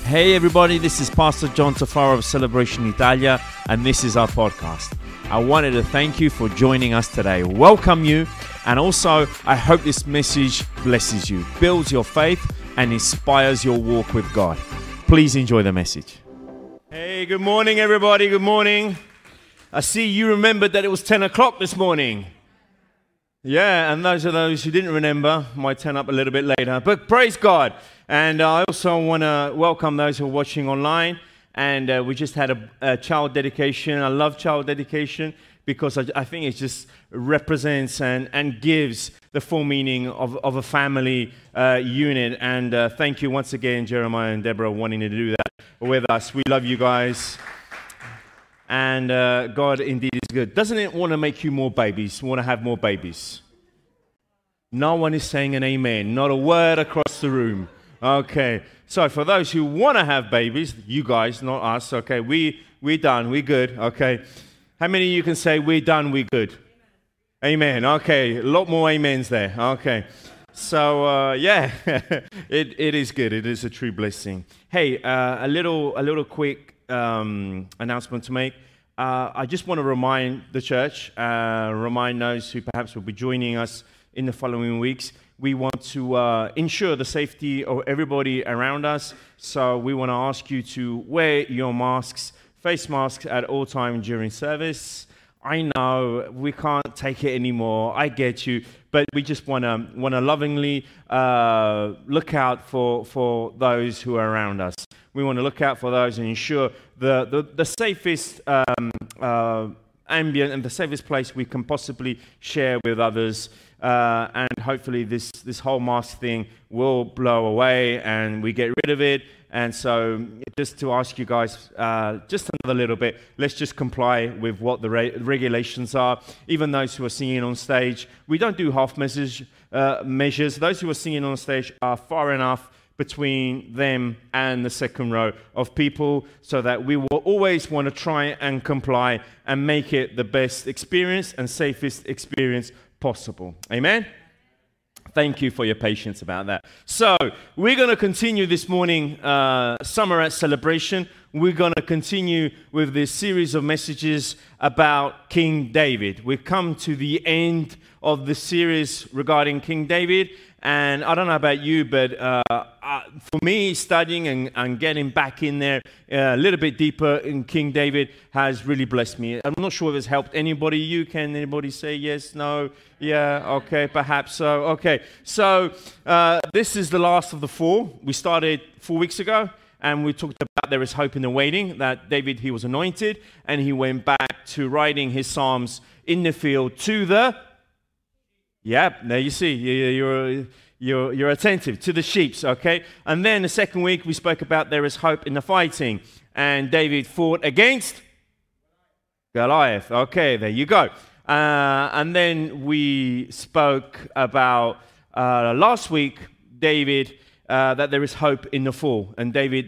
Hey everybody, this is Pastor John Tafaro of Celebration Italia, and this is our podcast. I wanted to thank you for joining us today, welcome you, and also I hope this message blesses you, builds your faith, and inspires your walk with God. Please enjoy the message. Hey, good morning everybody, good morning. I see you remembered that it was 10 o'clock this morning. Yeah, and those who didn't remember might turn up a little bit later, but praise God. And I also want to welcome those who are watching online. And we just had a child dedication. I love child dedication because I think it just represents and gives the full meaning of a family unit. And thank you once again, Jeremiah and Deborah, wanting to do that with us. We love you guys. And God indeed is good. Doesn't it want to make you more babies? Want to have more babies? No one is saying an amen. Not a word across the room. Okay. So for those who want to have babies, you guys, not us. Okay. We're done. We're good. Okay. How many of you can say we're done? We're good. Amen. Okay. A lot more amens there. Okay. So yeah, it is good. It is a true blessing. Hey, a little quick announcement to make. I just want to remind the church, remind those who perhaps will be joining us in the following weeks. We want to ensure the safety of everybody around us. So we want to ask you to wear your masks, face masks at all times during service. I know we can't take it anymore. I get you, but we just want to lovingly look out for those who are around us. We want to look out for those and ensure the safest ambient and the safest place we can possibly share with others. And hopefully this whole mask thing will blow away and we get rid of it. And so just to ask you guys just another little bit, let's just comply with what the regulations are. Even those who are singing on stage, we don't do half measures. Those who are singing on stage are far enough between them and the second row of people so that we will always want to try and comply and make it the best experience and safest experience possible. Amen? Thank you for your patience about that. So, we're going to continue this morning, Summer at Celebration. We're going to continue with this series of messages about King David. We've come to the end of the series regarding King David. And I don't know about you, but for me, studying and getting back in there a little bit deeper in King David has really blessed me. I'm not sure if it's helped anybody. Can anybody say yes, no, yeah, okay, perhaps so. Okay, so this is the last of the four. We started 4 weeks ago, and we talked about there is hope in the waiting, that David, he was anointed, and he went back to writing his Psalms in the field to the... Yeah, there you see, you're attentive to the sheep, okay? And then the second week we spoke about there is hope in the fighting, and David fought against Goliath. Okay, there you go. And then we spoke about last week, David, that there is hope in the fall, and David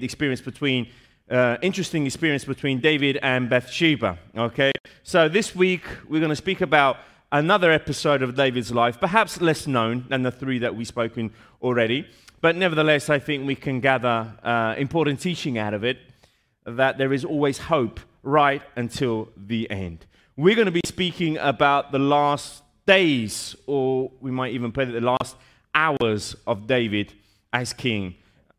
interesting experience between David and Bathsheba. Okay, so this week we're going to speak about another episode of David's life, perhaps less known than the three that we've spoken already, but nevertheless, I think we can gather important teaching out of it, that there is always hope right until the end. We're going to be speaking about the last days, or we might even put it the last hours of David as king.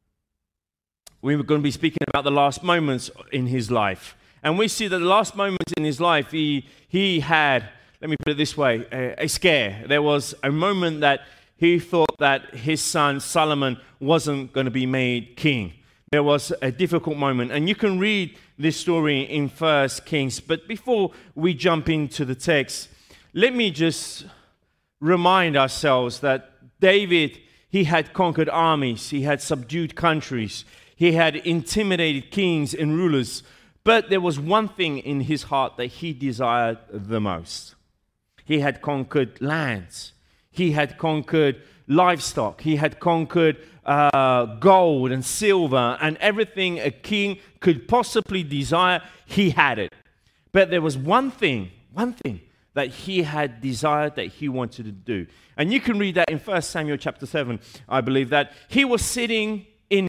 We're going to be speaking about the last moments in his life. And we see that the last moments in his life, he had... Let me put it this way, a scare. There was a moment that he thought that his son Solomon wasn't going to be made king. There was a difficult moment. And you can read this story in 1 Kings. But before we jump into the text, let me just remind ourselves that David, he had conquered armies. He had subdued countries. He had intimidated kings and rulers. But there was one thing in his heart that he desired the most. He had conquered lands. He had conquered livestock. He had conquered gold and silver and everything a king could possibly desire. He had it. But there was one thing that he had desired, that he wanted to do. And you can read that in 1 Samuel chapter 7, I believe, that he was sitting in his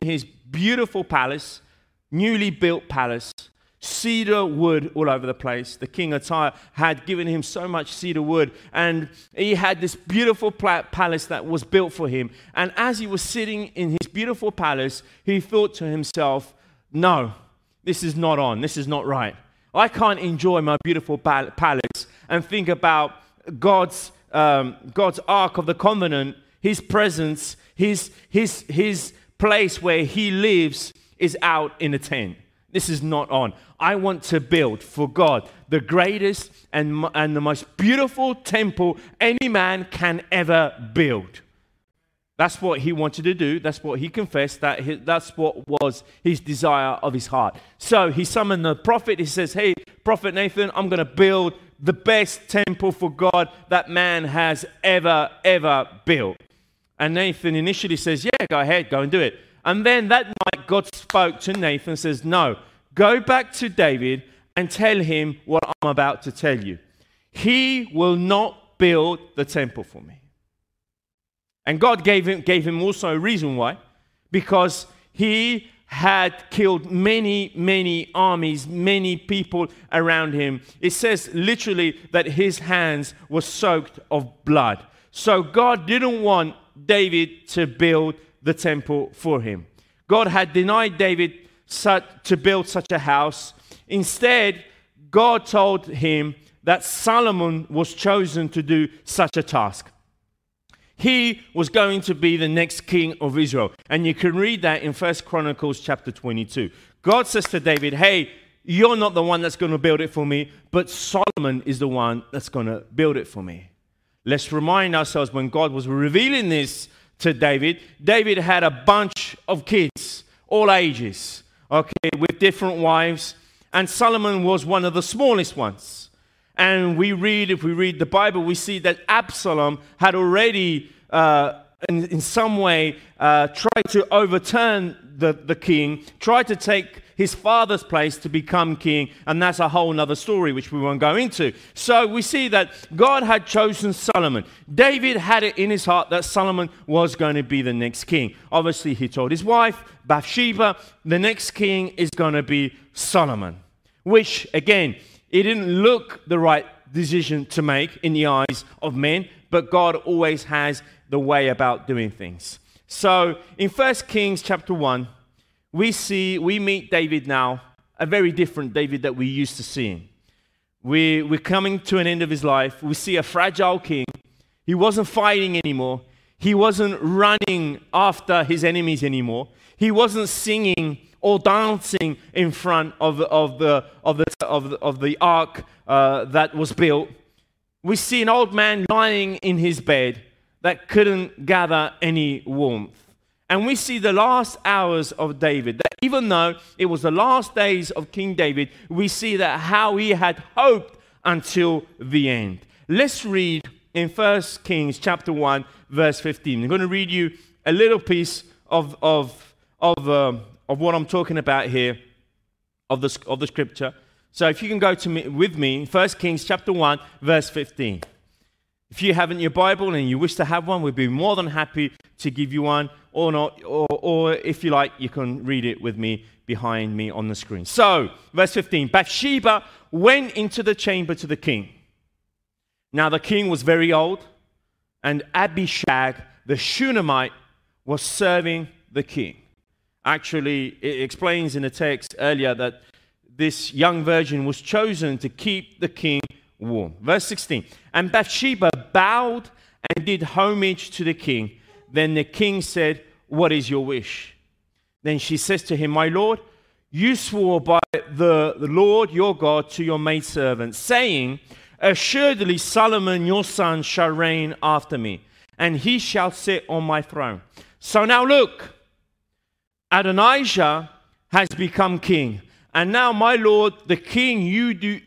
beautiful palace, newly built palace, cedar wood all over the place. The king of Tyre had given him so much cedar wood, and he had this beautiful palace that was built for him. And as he was sitting in his beautiful palace, he thought to himself, no, this is not on. This is not right. I can't enjoy my beautiful palace and think about God's Ark of the Covenant, his presence, his place where he lives is out in a tent. This is not on. I want to build for God the greatest and the most beautiful temple any man can ever build. That's what he wanted to do. That's what he confessed. That's what was his desire of his heart. So he summoned the prophet. He says, hey, Prophet Nathan, I'm going to build the best temple for God that man has ever built. And Nathan initially says, yeah, go ahead, go and do it. And then that night, God spoke to Nathan and says, no, go back to David and tell him what I'm about to tell you. He will not build the temple for me. And God gave him also a reason why. Because he had killed many armies, many people around him. It says literally that his hands were soaked of blood. So God didn't want David to build the temple for him. God had denied David to build such a house. Instead, God told him that Solomon was chosen to do such a task. He was going to be the next king of Israel. And you can read that in 1 Chronicles chapter 22. God says to David, hey, you're not the one that's going to build it for me, but Solomon is the one that's going to build it for me. Let's remind ourselves when God was revealing this to David, David had a bunch of kids, all ages, okay, with different wives. And Solomon was one of the smallest ones. And if we read the Bible, we see that Absalom had already, in some way, tried to overturn the king, tried to take his father's place to become king, and that's a whole other story which we won't go into. So we see that God had chosen Solomon. David had it in his heart that Solomon was going to be the next king. Obviously, he told his wife, Bathsheba, the next king is going to be Solomon, which, again, it didn't look the right decision to make in the eyes of men, but God always has the way about doing things. So in 1 Kings chapter 1, we meet David now, a very different David that we used to see him. We're coming to an end of his life. We see a fragile king. He wasn't fighting anymore. He wasn't running after his enemies anymore. He wasn't singing or dancing in front of the ark that was built. We see an old man lying in his bed that couldn't gather any warmth. And we see the last hours of David, that even though it was the last days of King David, we see that how he had hoped until the end. Let's read in 1 Kings chapter 1, verse 15. I'm going to read you a little piece of what I'm talking about here, of the scripture. So if you can go with me, 1 Kings chapter 1, verse 15. If you haven't your Bible and you wish to have one, we'd be more than happy to give you one, or not, or if you like, you can read it with me behind me on the screen. So, verse 15, Bathsheba went into the chamber to the king. Now the king was very old, and Abishag, the Shunammite, was serving the king. Actually, it explains in the text earlier that this young virgin was chosen to keep the king warm. Verse 16, and Bathsheba bowed and did homage to the king. Then the king said, what is your wish? Then she says to him, my lord, you swore by the Lord your God to your maidservant, saying, assuredly Solomon your son shall reign after me, and he shall sit on my throne. So now look, Adonijah has become king. And now, my lord the king, you do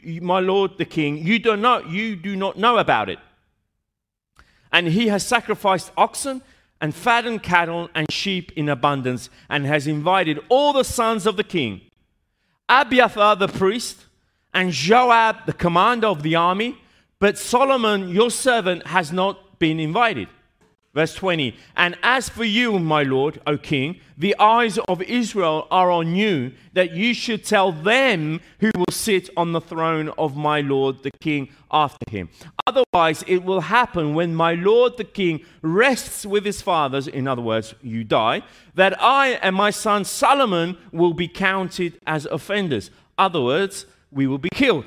not know about it. And he has sacrificed oxen and fattened cattle and sheep in abundance, and has invited all the sons of the king, Abiathar the priest, and Joab the commander of the army, but Solomon your servant has not been invited. Verse 20, and as for you, my lord, O king, the eyes of Israel are on you, that you should tell them who will sit on the throne of my lord the king after him. Otherwise, it will happen when my lord the king rests with his fathers, in other words, you die, that I and my son Solomon will be counted as offenders. Other words, we will be killed.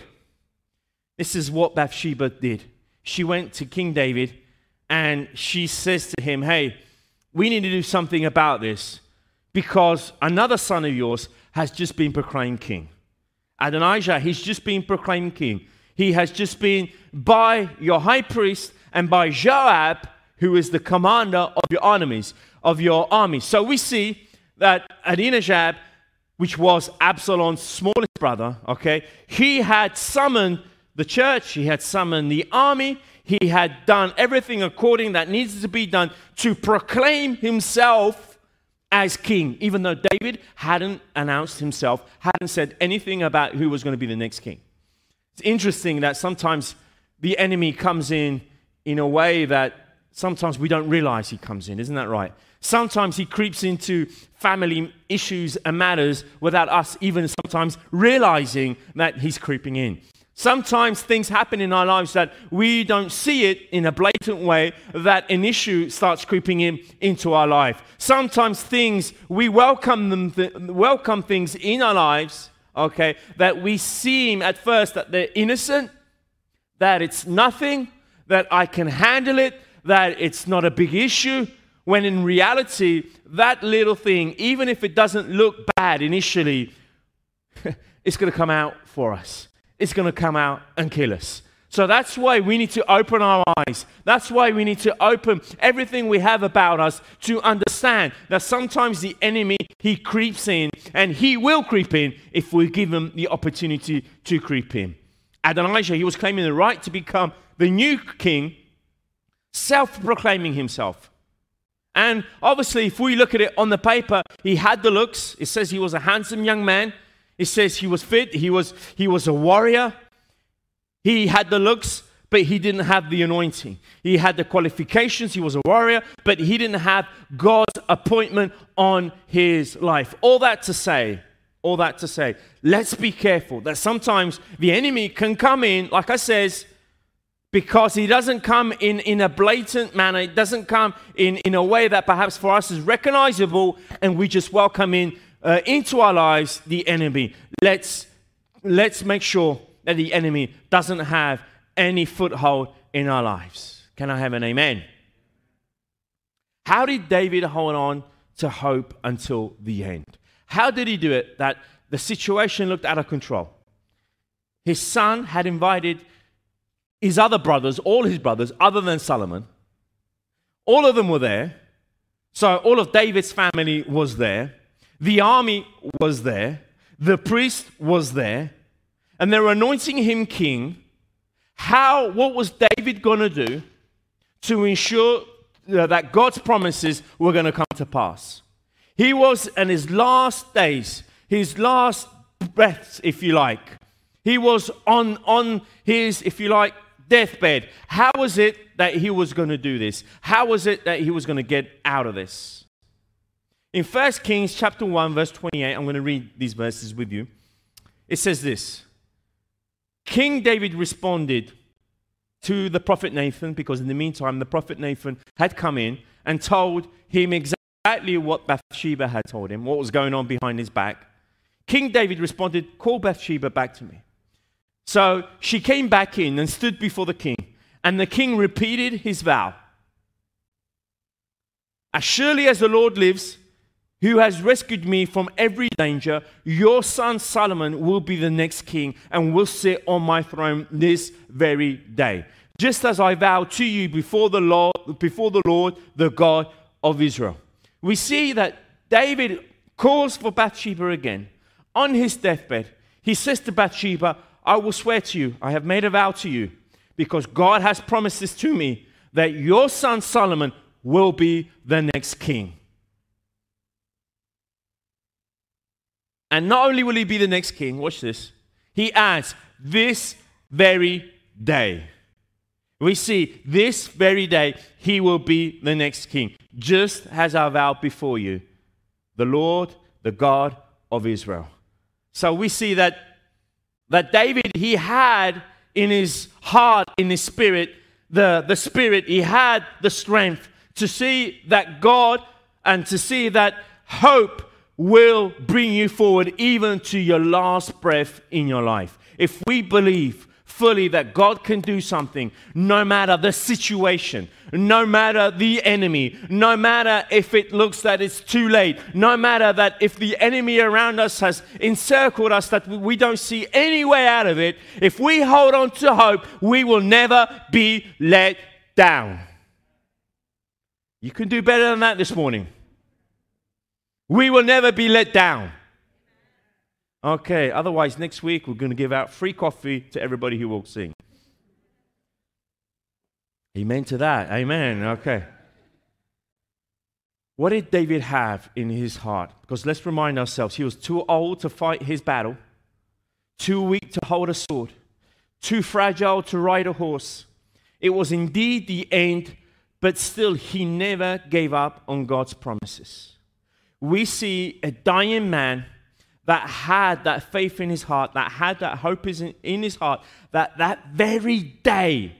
This is what Bathsheba did. She went to King David and she says to him, hey, we need to do something about this because another son of yours has just been proclaimed king. Adonijah, he's just been proclaimed king. He has just been by your high priest and by Joab, who is the commander of your armies, So we see that Adonijah, which was Absalom's smallest brother, okay, he had summoned the church, he had summoned the army, he had done everything according that needs to be done to proclaim himself as king, even though David hadn't announced himself, hadn't said anything about who was going to be the next king. It's interesting that sometimes the enemy comes in a way that sometimes we don't realize he comes in, isn't that right? Sometimes he creeps into family issues and matters without us even sometimes realizing that he's creeping in. Sometimes things happen in our lives that we don't see it in a blatant way, that an issue starts creeping into our life. Sometimes we welcome things in our lives, okay, that we seem at first that they're innocent, that it's nothing, that I can handle it, that it's not a big issue, when in reality, that little thing, even if it doesn't look bad initially, it's going to come out for us. It's going to come out and kill us. So that's why we need to open our eyes. That's why we need to open everything we have about us to understand that sometimes the enemy, he creeps in, and he will creep in if we give him the opportunity to creep in. Adonijah, he was claiming the right to become the new king, self-proclaiming himself. And obviously, if we look at it on the paper, he had the looks. It says he was a handsome young man. It says he was fit. He was a warrior. He had the looks, but he didn't have the anointing. He had the qualifications. He was a warrior, but he didn't have God's appointment on his life. All that to say, let's be careful that sometimes the enemy can come in, like I says, because he doesn't come in a blatant manner. It doesn't come in a way that perhaps for us is recognizable, and we just welcome into our lives the enemy. Let's make sure that the enemy doesn't have any foothold in our lives. Can I have an amen? How did David hold on to hope until the end? How did he do it that the situation looked out of control? His son had invited his other brothers, all his brothers, other than Solomon. All of them were there. So all of David's family was there. The army was there. The priest was there. And they were anointing him king. What was David going to do to ensure that God's promises were going to come to pass? He was in his last days, his last breaths, if you like. He was on his, if you like, deathbed. How was it that he was going to do this? How was it that he was going to get out of this? In 1 Kings chapter 1, verse 28, I'm going to read these verses with you. It says this: King David responded to the prophet Nathan, because in the meantime, the prophet Nathan had come in and told him exactly what Bathsheba had told him, what was going on behind his back. King David responded, "Call Bathsheba back to me." So she came back in and stood before the king, and the king repeated his vow. "As surely as the Lord lives, who has rescued me from every danger, your son Solomon will be the next king and will sit on my throne this very day, just as I vowed to you before the Lord, the God of Israel." We see that David calls for Bathsheba again. On his deathbed, he says to Bathsheba, "I will swear to you, I have made a vow to you, because God has promised this to me, that your son Solomon will be the next king. And not only will he be the next king," watch this, he adds, "this very day." We see this very day, he will be the next king, just as I vowed before you, the Lord, the God of Israel. So we see that David, he had in his heart, in his spirit, the spirit, he had the strength to see that God and to see that hope will bring you forward even to your last breath in your life. If we believe fully that God can do something, no matter the situation, no matter the enemy, no matter if it looks that it's too late, no matter that if the enemy around us has encircled us that we don't see any way out of it, if we hold on to hope, we will never be let down. You can do better than that this morning. We will never be let down. Okay, otherwise next week we're going to give out free coffee to everybody who walks in. Amen to that. Amen. Okay. What did David have in his heart? Because let's remind ourselves, he was too old to fight his battle, too weak to hold a sword, too fragile to ride a horse. It was indeed the end, but still he never gave up on God's promises. We see a dying man that had that faith in his heart, that had that hope in his heart, that very day,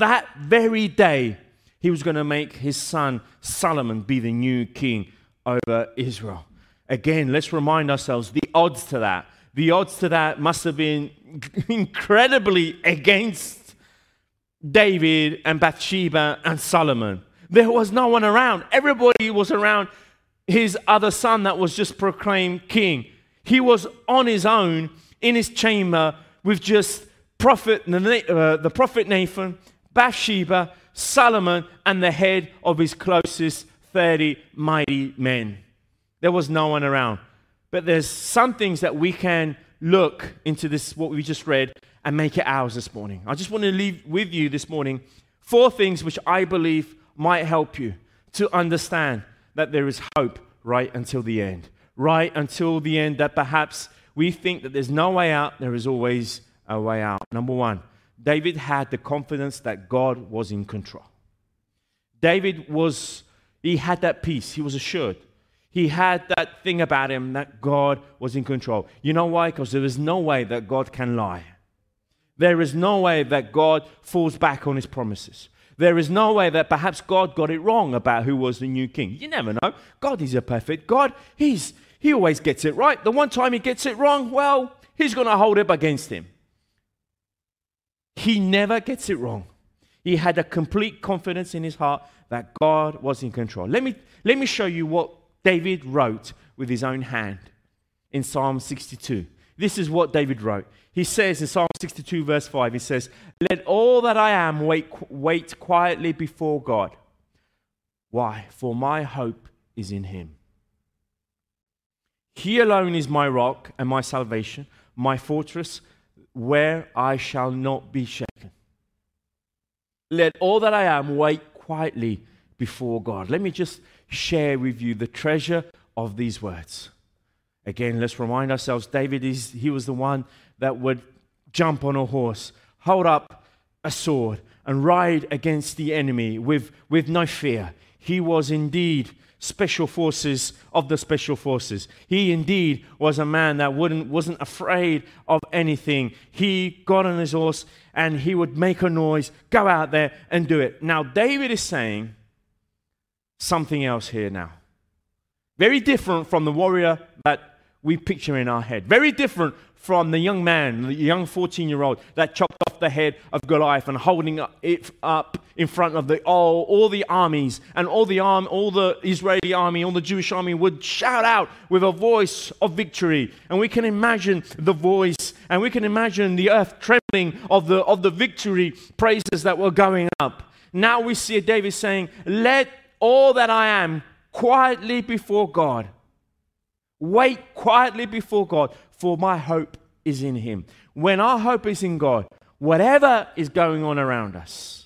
he was going to make his son Solomon be the new king over Israel. Again, let's remind ourselves, the odds to that must have been incredibly against David and Bathsheba and Solomon. There was no one around. Everybody was around his other son that was just proclaimed king. He was on his own in his chamber with just the prophet Nathan, Bathsheba, Solomon, and the head of his closest 30 mighty men. There was no one around. But there's some things that we can look into this, what we just read, and make it ours this morning. I just want to leave with you this morning 4 things which I believe might help you to understand that there is hope right until the end. Right until the end, that perhaps we think that there's no way out, there is always a way out. Number 1, David had the confidence that God was in control. He had that peace. He was assured. He had that thing about him that God was in control. You know why? Because there is no way that God can lie. There is no way that God falls back on his promises. There is no way that perhaps God got it wrong about who was the new king. You never know. God is a perfect God. He always gets it right. The one time he gets it wrong, well, he's going to hold it against him. He never gets it wrong. He had a complete confidence in his heart that God was in control. Let me show you what David wrote with his own hand in Psalm 62. This is what David wrote. He says in Psalm 62 verse 5, he says, "Let all that I am wait quietly before God. Why? For my hope is in him. He alone is my rock and my salvation, my fortress, where I shall not be shaken. Let all that I am wait quietly before God." Let me just share with you the treasure of these words. Again, let's remind ourselves, he was the one that would jump on a horse, hold up a sword, and ride against the enemy with no fear. He was indeed special forces of the special forces. He indeed was a man that wasn't afraid of anything. He got on his horse and he would make a noise, go out there and do it. Now, David is saying something else here now. Very different from the warrior that we picture in our head. Very different from the young man, the young 14-year-old that chopped off the head of Goliath and holding it up in front of all the armies, and all the Israeli army, all the Jewish army would shout out with a voice of victory. And we can imagine the voice, and we can imagine the earth trembling of the victory praises that were going up. Now we see David saying, "Let all that I am quietly before God. Wait quietly before God, for my hope is in him." When our hope is in God, whatever is going on around us,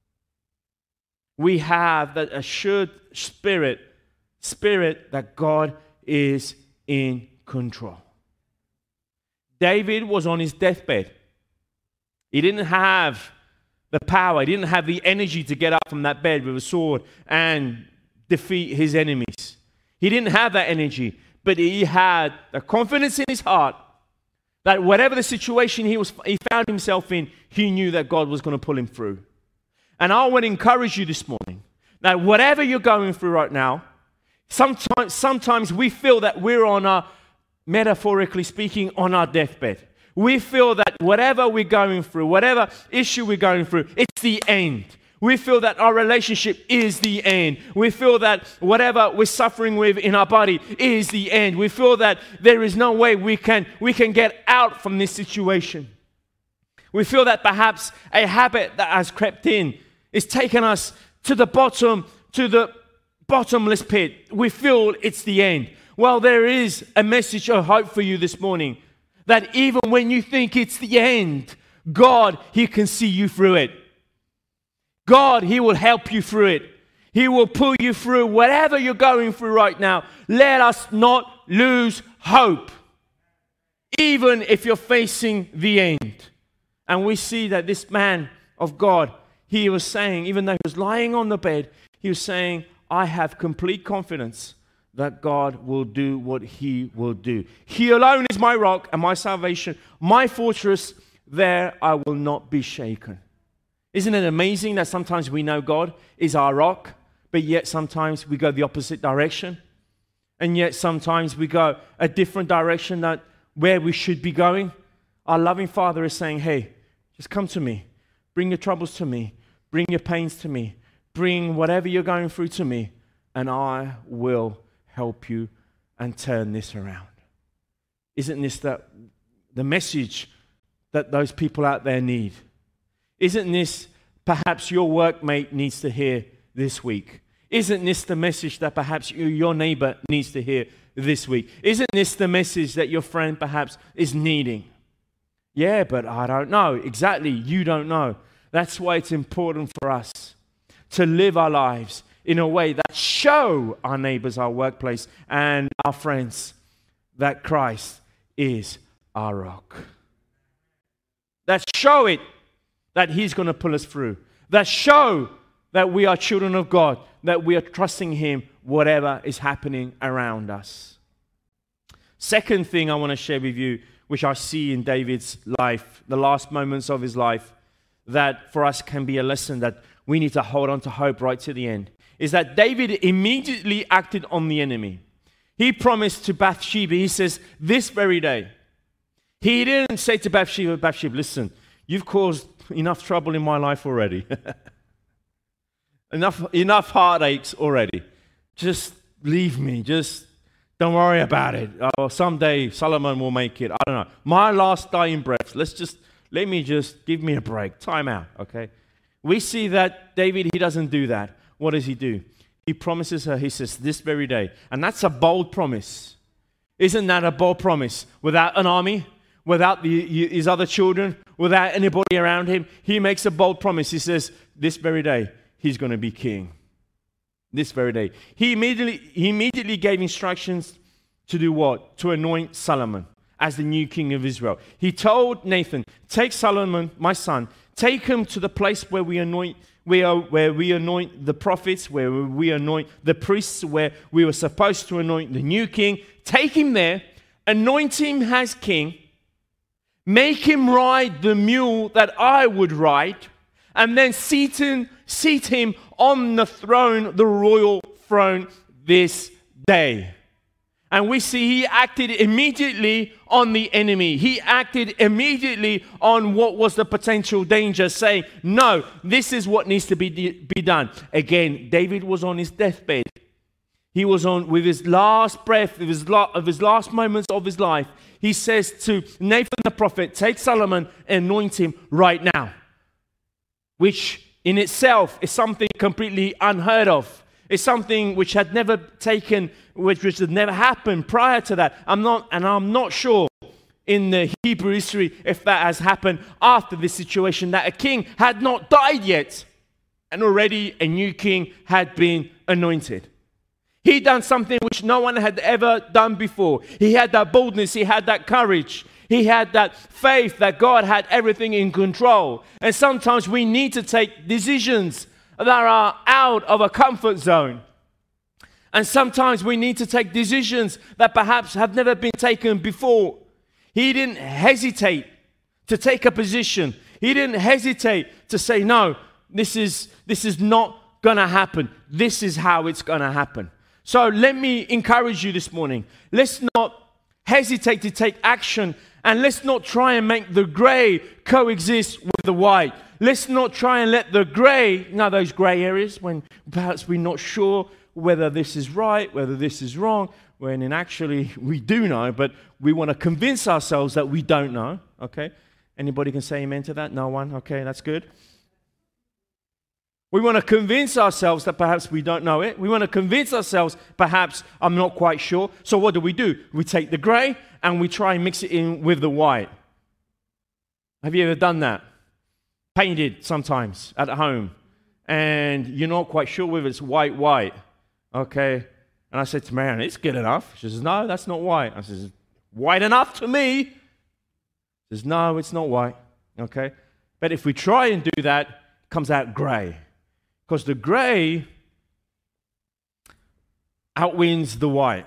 we have that assured spirit that God is in control. David was on his deathbed. He didn't have the power. He didn't have the energy to get up from that bed with a sword and defeat his enemies. He didn't have that energy, but he had the confidence in his heart that whatever the situation he found himself in, he knew that God was going to pull him through. And I want to encourage you this morning that whatever you're going through right now, sometimes we feel that we're on our, metaphorically speaking, on our deathbed. We feel that whatever we're going through, whatever issue we're going through, it's the end. We feel that our relationship is the end. We feel that whatever we're suffering with in our body is the end. We feel that there is no way we can get out from this situation. We feel that perhaps a habit that has crept in is taking us to the bottomless pit. We feel it's the end. Well, there is a message of hope for you this morning, that even when you think it's the end, God, He can see you through it. God, He will help you through it. He will pull you through whatever you're going through right now. Let us not lose hope, even if you're facing the end. And we see that this man of God, he was saying, even though he was lying on the bed, he was saying, I have complete confidence that God will do what He will do. He alone is my rock and my salvation, my fortress. There I will not be shaken. Isn't it amazing that sometimes we know God is our rock, but yet sometimes we go the opposite direction? And yet sometimes we go a different direction than where we should be going. Our loving Father is saying, hey, just come to me. Bring your troubles to me. Bring your pains to me. Bring whatever you're going through to me, and I will help you and turn this around. Isn't this the message that those people out there need? Isn't this perhaps your workmate needs to hear this week? Isn't this the message that perhaps your neighbor needs to hear this week? Isn't this the message that your friend perhaps is needing? Yeah, but I don't know. Exactly, you don't know. That's why it's important for us to live our lives in a way that show our neighbors, our workplace, and our friends that Christ is our rock. That show it that He's going to pull us through. That show that we are children of God, that we are trusting Him whatever is happening around us. Second thing I want to share with you, which I see in David's life, the last moments of his life, that for us can be a lesson that we need to hold on to hope right to the end, is that David immediately acted on the enemy. He promised to Bathsheba, he says, this very day. He didn't say to Bathsheba, listen, you've caused enough trouble in my life already. enough heartaches already. Just leave me. Just don't worry about it. Or someday Solomon will make it. I don't know. My last dying breath. Let me just give me a break. Time out, okay? We see that David, he doesn't do that. What does he do? He promises her, he says, this very day. And that's a bold promise. Isn't that a bold promise? Without an army, without his other children, without anybody around him, he makes a bold promise. He says, this very day, he's going to be king. This very day. He immediately gave instructions to do what? To anoint Solomon as the new king of Israel. He told Nathan, take Solomon, my son, take him to the place where we anoint the prophets, where we anoint the priests, where we were supposed to anoint the new king. Take him there, anoint him as king, make him ride the mule that I would ride, and then seat him on the throne, the royal throne, this day. And we see he acted immediately on the enemy. He acted immediately on what was the potential danger, saying, no, this is what needs to be done. Again, David was on his deathbed. He was on with his last breath, of his last moments of his life. He says to Nathan the prophet, take Solomon and anoint him right now. Which in itself is something completely unheard of. It's something which had never taken, which had never happened prior to that. I'm not sure in the Hebrew history if that has happened after this situation, that a king had not died yet and already a new king had been anointed. He done something which no one had ever done before. He had that boldness. He had that courage. He had that faith that God had everything in control. And sometimes we need to take decisions that are out of a comfort zone. And sometimes we need to take decisions that perhaps have never been taken before. He didn't hesitate to take a position. He didn't hesitate to say, no, this is not going to happen. This is how it's going to happen. So let me encourage you this morning. Let's not hesitate to take action, and let's not try and make the gray coexist with the white. Let's not try and let the gray, those gray areas when perhaps we're not sure whether this is right, whether this is wrong, when actually we do know, but we want to convince ourselves that we don't know. Okay? Anybody can say amen to that? No one? Okay, that's good. We want to convince ourselves that perhaps we don't know it. We want to convince ourselves, perhaps I'm not quite sure. So what do? We take the gray and we try and mix it in with the white. Have you ever done that? Painted sometimes at home. And you're not quite sure whether it's white. Okay. And I said to Marianne, it's good enough. She says, no, that's not white. I says, white enough to me. She says, no, it's not white. Okay. But if we try and do that, it comes out gray. Because the gray outwins the white.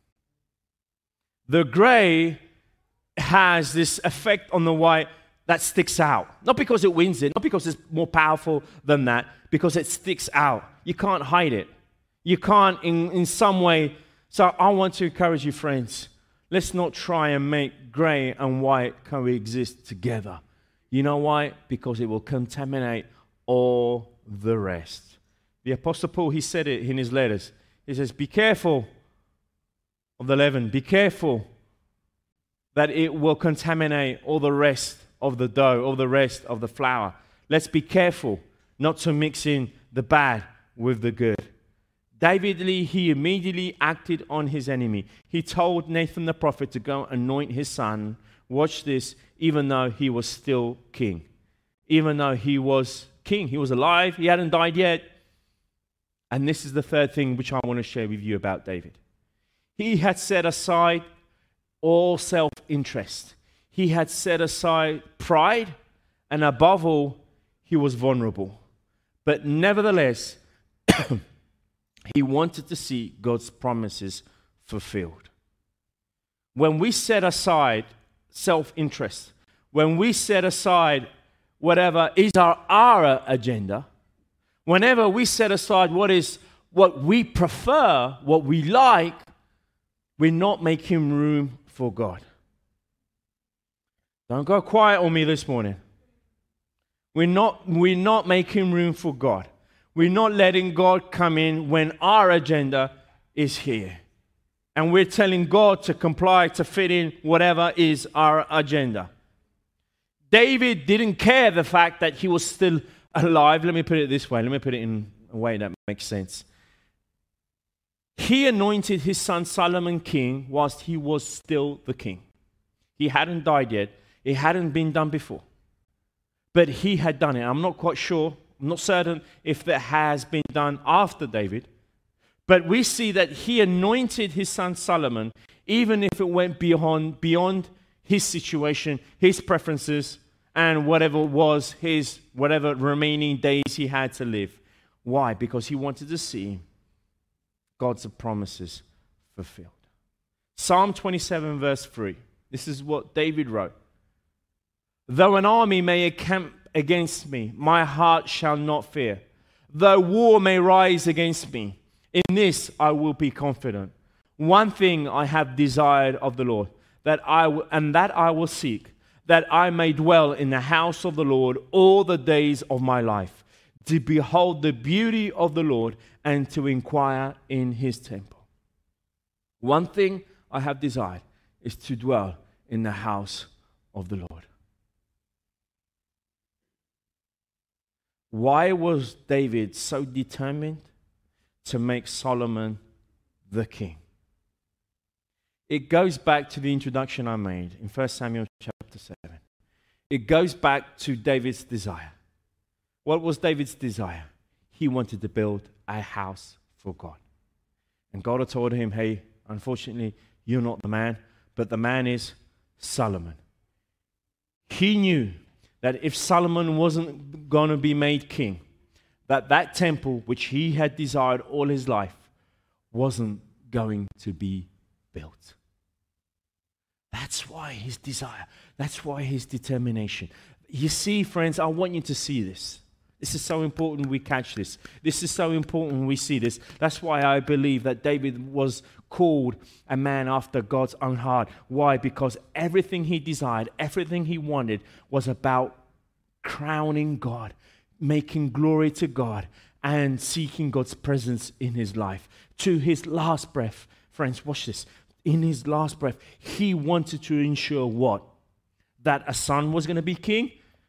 The gray has this effect on the white that sticks out. Not because it wins it, not because it's more powerful than that, because it sticks out. You can't hide it. You can't in some way. So I want to encourage you, friends, let's not try and make gray and white coexist together. You know why? Because it will contaminate all the rest. The Apostle Paul, he said it in his letters. He says, be careful of the leaven. Be careful that it will contaminate all the rest of the dough, all the rest of the flour. Let's be careful not to mix in the bad with the good. David, he immediately acted on his enemy. He told Nathan the prophet to go anoint his son. Watch this, even though he was still king. Even though he was king, he was alive, he hadn't died yet. And this is the third thing which I want to share with you about David. He had set aside all self-interest. He had set aside pride, and above all, he was vulnerable. But nevertheless, he wanted to see God's promises fulfilled. When we set aside self-interest, when we set aside whatever is our agenda, whenever we set aside what we prefer, what we like, we're not making room for God. Don't go quiet on me this morning. We're not making room for God. We're not letting God come in when our agenda is here. And we're telling God to comply, to fit in whatever is our agenda. David didn't care the fact that he was still alive. Let me put it this way. Let me put it in a way that makes sense. He anointed his son Solomon king whilst he was still the king. He hadn't died yet. It hadn't been done before. But he had done it. I'm not quite sure. I'm not certain if that has been done after David. But we see that he anointed his son Solomon, even if it went beyond his situation, his preferences, and whatever remaining days he had to live. Why? Because he wanted to see God's promises fulfilled. Psalm 27 verse 3. This is what David wrote. Though an army may encamp against me, my heart shall not fear. Though war may rise against me, in this I will be confident. One thing I have desired of the Lord, that I will seek, that I may dwell in the house of the Lord all the days of my life, to behold the beauty of the Lord and to inquire in his temple. One thing I have desired is to dwell in the house of the Lord. Why was David so determined to make Solomon the king? It goes back to the introduction I made in 1 Samuel chapter 7. It goes back to David's desire. What was David's desire? He wanted to build a house for God. And God had told him, hey, unfortunately, you're not the man, but the man is Solomon. He knew that if Solomon wasn't going to be made king, that temple which he had desired all his life wasn't going to be built. That's why his desire. That's why his determination. You see, friends, I want you to see this. This is so important we catch this. This is so important we see this. That's why I believe that David was called a man after God's own heart. Why? Because everything he desired, everything he wanted was about crowning God, making glory to God, and seeking God's presence in his life. To his last breath, friends, watch this. In his last breath, he wanted to ensure what? That a son was going to be king.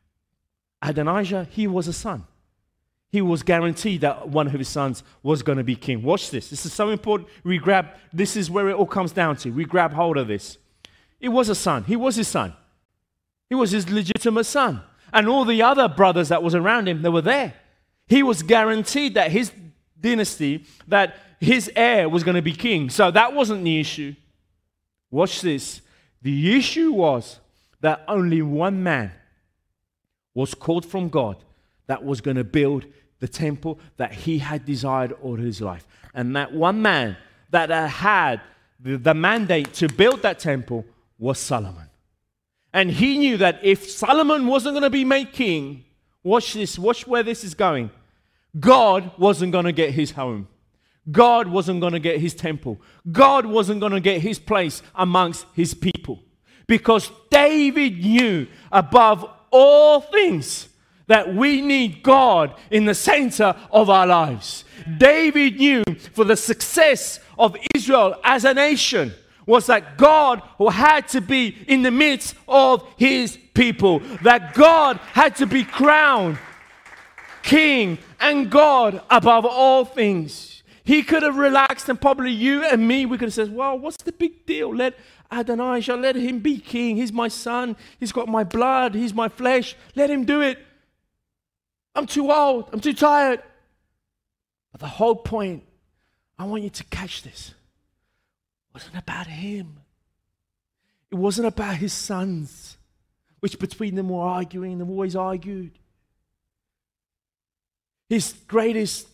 Adonijah, he was a son. He was guaranteed that one of his sons was going to be king. Watch this. This is so important. This is where it all comes down to. We grab hold of this. It was a son. He was his son. He was his legitimate son. And all the other brothers that was around him, they were there. He was guaranteed that his dynasty, that his heir was going to be king. So that wasn't the issue. Watch this. The issue was that only one man was called from God that was going to build the temple that he had desired all his life. And that one man that had the mandate to build that temple was Solomon. And he knew that if Solomon wasn't going to be made king, watch this, watch where this is going. God wasn't going to get his home. God wasn't going to get his temple. God wasn't going to get his place amongst his people. Because David knew above all things that we need God in the center of our lives. David knew for the success of Israel as a nation was that God had to be in the midst of his people. That God had to be crowned king and God above all things. He could have relaxed, and probably you and me, we could have said, well, what's the big deal? Let Adonijah, let him be king. He's my son. He's got my blood. He's my flesh. Let him do it. I'm too old. I'm too tired. But the whole point, I want you to catch this, wasn't about him. It wasn't about his sons, which between them were arguing. They've always argued. His greatest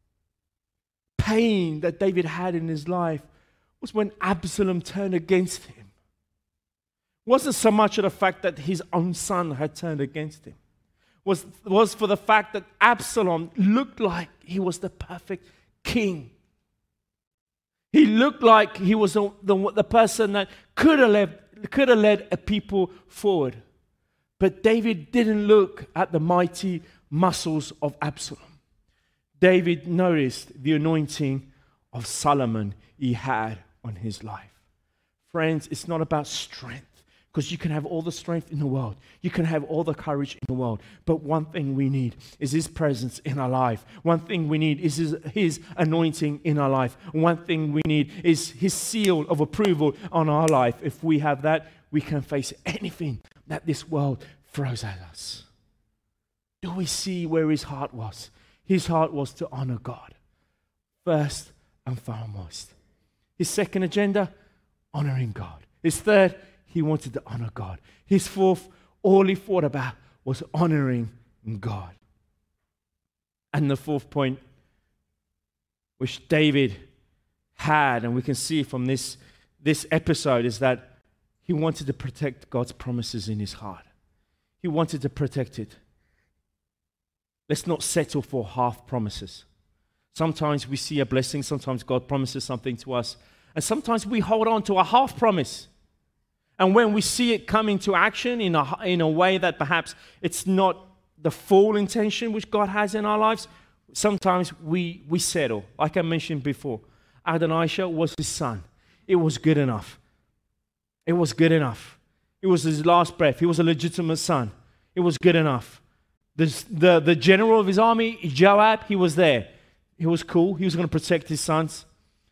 pain that David had in his life was when Absalom turned against him. It wasn't so much of the fact that his own son had turned against him. It was for the fact that Absalom looked like he was the perfect king. He looked like he was the person that could have led a people forward. But David didn't look at the mighty muscles of Absalom. David noticed the anointing of Solomon he had on his life. Friends, it's not about strength, because you can have all the strength in the world. You can have all the courage in the world. But one thing we need is his presence in our life. One thing we need is his anointing in our life. One thing we need is his seal of approval on our life. If we have that, we can face anything that this world throws at us. Do we see where his heart was? His heart was to honor God first and foremost. His second agenda, honoring God. His third, he wanted to honor God. His fourth, all he thought about was honoring God. And the fourth point, which David had, and we can see from this episode, is that he wanted to protect God's promises in his heart. He wanted to protect it. Let's not settle for half promises. Sometimes we see a blessing, sometimes God promises something to us, and sometimes we hold on to a half promise. And when we see it come into action in a way that perhaps it's not the full intention which God has in our lives, sometimes we settle. Like I mentioned before, Adonijah was his son. It was good enough. It was good enough. It was his last breath. He was a legitimate son. It was good enough. The general of his army, Joab, he was there. He was cool. He was going to protect his sons.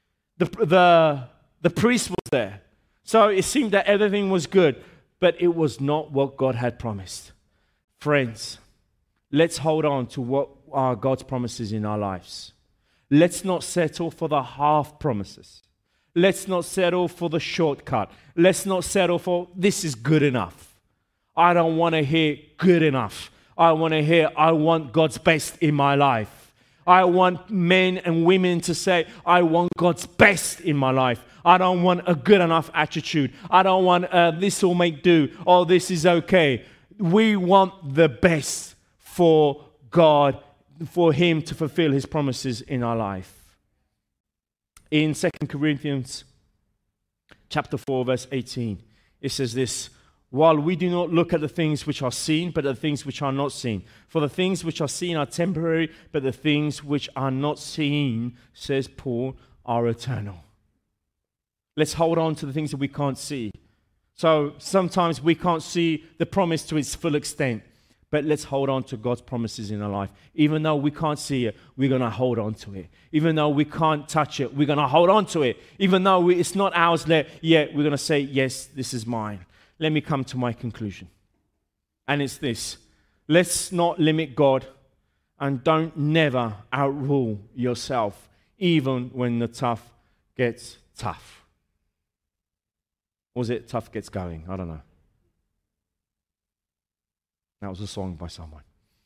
The priest was there. So it seemed that everything was good, but it was not what God had promised. Friends, let's hold on to what are God's promises in our lives. Let's not settle for the half promises. Let's not settle for the shortcut. Let's not settle for this is good enough. I don't want to hear good enough. I want to hear I want God's best in my life. I want men and women to say, I want God's best in my life. I don't want a good enough attitude. I don't want this will make do. Oh, this is okay. We want the best for God, for Him to fulfill His promises in our life. In 2 Corinthians chapter 4, verse 18, it says this, while we do not look at the things which are seen, but at the things which are not seen. For the things which are seen are temporary, but the things which are not seen, says Paul, are eternal. Let's hold on to the things that we can't see. So sometimes we can't see the promise to its full extent, but let's hold on to God's promises in our life. Even though we can't see it, we're going to hold on to it. Even though we can't touch it, we're going to hold on to it. Even though it's not ours yet, we're going to say, yes, this is mine. Let me come to my conclusion. And it's this. Let's not limit God, and don't never outrule yourself, even when the tough gets tough. Or was it tough gets going? I don't know. That was a song by someone.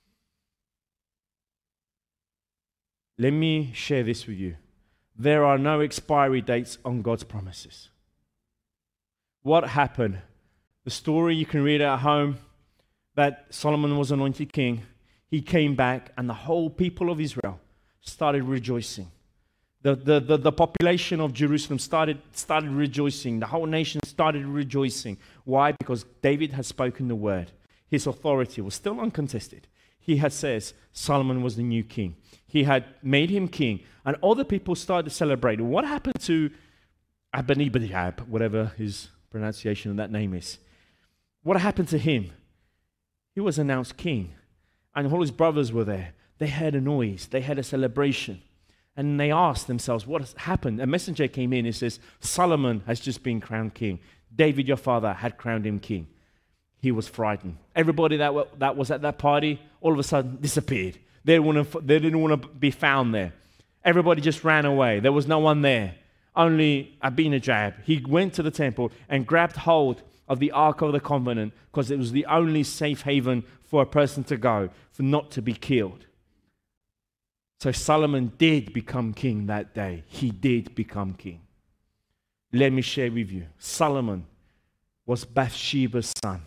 Let me share this with you. There are no expiry dates on God's promises. What happened? The story, you can read it at home, that Solomon was anointed king. He came back and the whole people of Israel started rejoicing. The population of Jerusalem started rejoicing. The whole nation started rejoicing. Why? Because David had spoken the word. His authority was still uncontested. He had says Solomon was the new king. He had made him king. And all the people started to celebrate. What happened to Abinadab, whatever his pronunciation of that name is? What happened to him? He was announced king. And all his brothers were there. They heard a noise. They had a celebration. And they asked themselves, what has happened? A messenger came in and says, Solomon has just been crowned king. David, your father, had crowned him king. He was frightened. Everybody that was at that party, all of a sudden disappeared. They didn't want to be found there. Everybody just ran away. There was no one there. Only Abinadab. He went to the temple and grabbed hold of the Ark of the Covenant because it was the only safe haven for a person to go, for not to be killed. So Solomon did become king that day. He did become king. Let me share with you. Solomon was Bathsheba's son.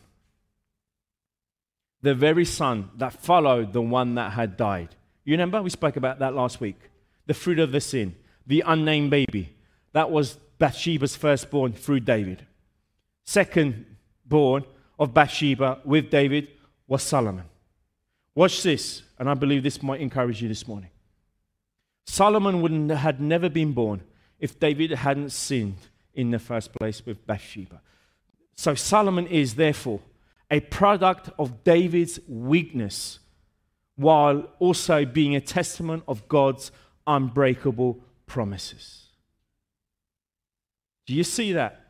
The very son that followed the one that had died. You remember? We spoke about that last week. The fruit of the sin. The unnamed baby. That was Bathsheba's firstborn through David. Second born of Bathsheba with David was Solomon. Watch this, and I believe this might encourage you this morning. Solomon had never been born if David hadn't sinned in the first place with Bathsheba. So Solomon is therefore a product of David's weakness, while also being a testament of God's unbreakable promises. Do you see that?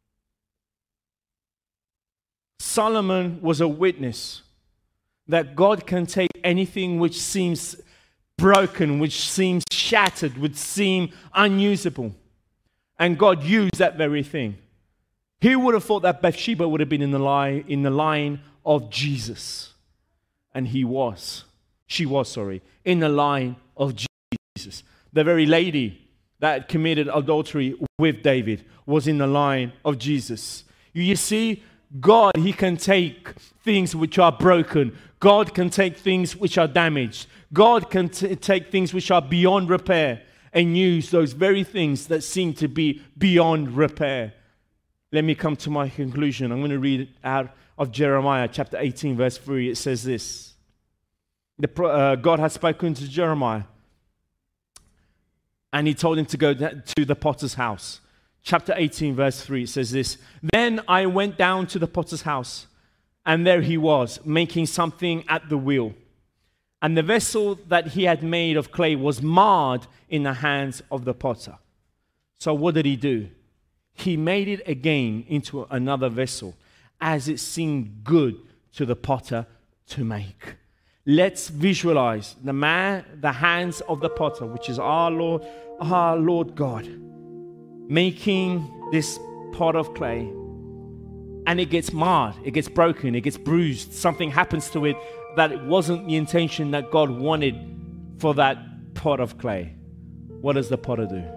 Solomon was a witness that God can take anything which seems broken, which seems shattered, which seem unusable, and God used that very thing. He would have thought that Bathsheba would have been in the line of Jesus, and she was in the line of Jesus. The very lady that committed adultery with David was in the line of Jesus. You see, God, He can take things which are broken. God can take things which are damaged. God can take things which are beyond repair and use those very things that seem to be beyond repair. Let me come to my conclusion. I'm going to read out of Jeremiah chapter 18, verse 3. It says this. God had spoken to Jeremiah, and He told him to go to the potter's house. Chapter 18, verse 3, it says this. Then I went down to the potter's house, and there he was, making something at the wheel. And the vessel that he had made of clay was marred in the hands of the potter. So what did he do? He made it again into another vessel, as it seemed good to the potter to make. Let's visualize the hands of the potter, which is our Lord God, making this pot of clay. And it gets marred, it gets broken, it gets bruised. Something happens to it that it wasn't the intention that God wanted for that pot of clay. What does the potter do?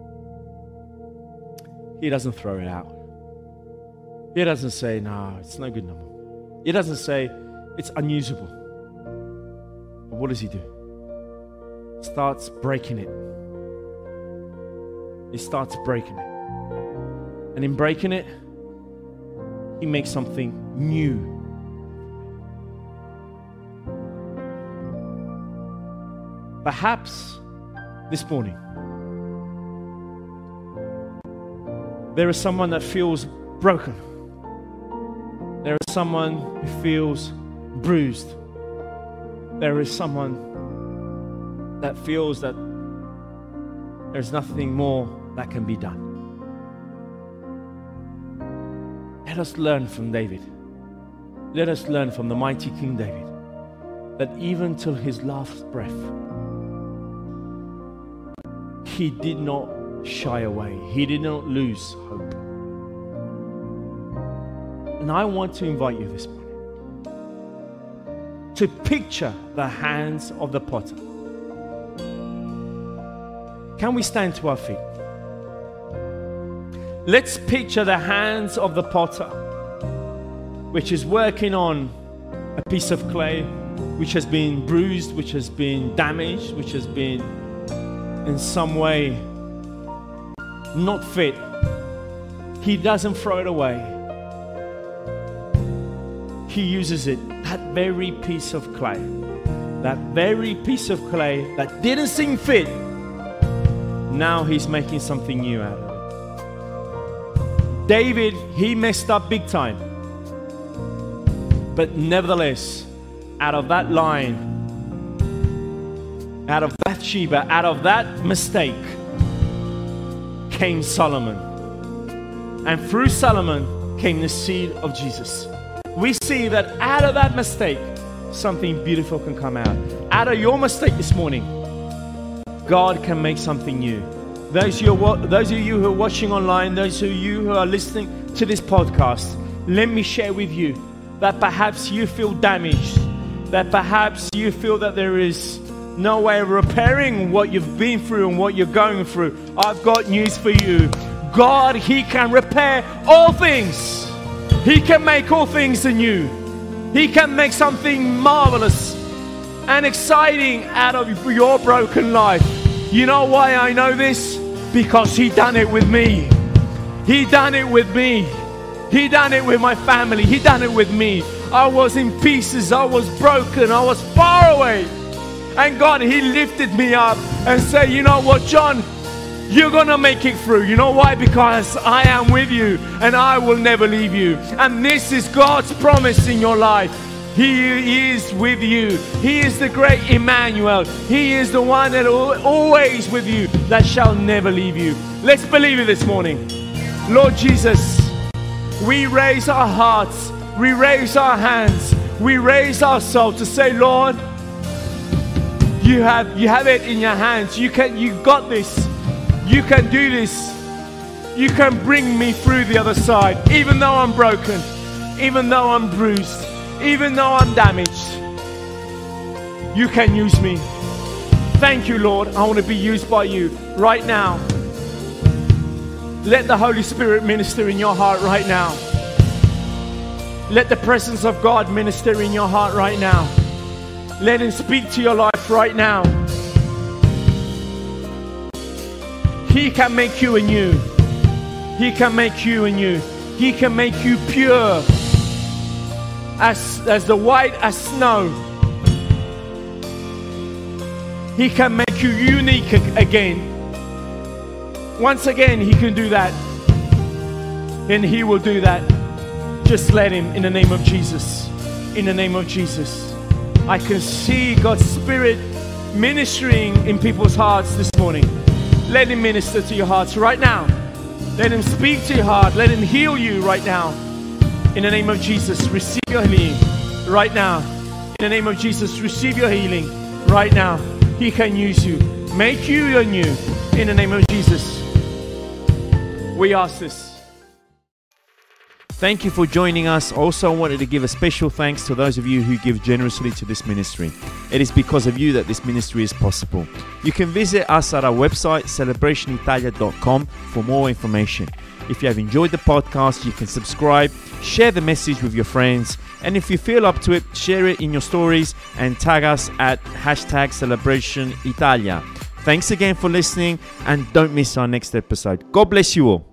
He doesn't throw it out. He doesn't say, no, it's no good no more. He doesn't say, it's unusable. But what does he do? He starts breaking it. He starts breaking it. And in breaking it, he makes something new. Perhaps this morning, there is someone that feels broken. There is someone who feels bruised. There is someone that feels that there's nothing more that can be done. Let us learn from David. Let us learn from the mighty King David that even till his last breath, he did not shy away. He did not lose hope. And I want to invite you this morning to picture the hands of the potter. Can we stand to our feet? Let's picture the hands of the potter, which is working on a piece of clay, which has been bruised, which has been damaged, which has been in some way not fit. He doesn't throw it away. He uses it, that very piece of clay, that very piece of clay that didn't seem fit. Now he's making something new out of it. David, he messed up big time. But nevertheless, out of that line, out of Bathsheba, out of that mistake, came Solomon. And through Solomon came the seed of Jesus. We see that out of that mistake, something beautiful can come out. Out of your mistake this morning, God can make something new. Those of you who are watching online, those of you who are listening to this podcast, let me share with you that perhaps you feel damaged, that perhaps you feel that there is no way of repairing what you've been through and what you're going through. I've got news for you. God, He can repair all things. He can make all things anew. He can make something marvelous and exciting out of your broken life. You know why I know this? Because He done it with me. He done it with me. He done it with my family. He done it with me. I was in pieces. I was broken. I was far away. And God, He lifted me up and said, you know what, John? You're going to make it through. You know why? Because I am with you and I will never leave you. And this is God's promise in your life. He is with you. He is the great Emmanuel. He is the one that is always with you, that shall never leave you. Let's believe it this morning. Lord Jesus, we raise our hearts, we raise our hands, we raise our soul to say, Lord, you have it in your hands. You got this. You can do this. You can bring me through the other side, even though I'm broken, even though I'm bruised, even though I'm damaged. You can use me. Thank you, Lord. I want to be used by you right now. Let the Holy Spirit minister in your heart right now. Let the presence of God minister in your heart right now. Let Him speak to your life right now. He can make you anew. He can make you anew. He can make you pure as the white as snow. He can make you unique again. Once again, He can do that. And He will do that. Just let Him, in the name of Jesus. In the name of Jesus. I can see God's Spirit ministering in people's hearts this morning. Let Him minister to your hearts right now. Let Him speak to your heart. Let Him heal you right now. In the name of Jesus, receive your healing right now. In the name of Jesus, receive your healing right now. He can use you. Make you anew. In the name of Jesus. We ask this. Thank you for joining us. Also, I wanted to give a special thanks to those of you who give generously to this ministry. It is because of you that this ministry is possible. You can visit us at our website, celebrationitalia.com, for more information. If you have enjoyed the podcast, you can subscribe, share the message with your friends, and if you feel up to it, share it in your stories and tag us at #CelebrationItalia. Thanks again for listening, and don't miss our next episode. God bless you all.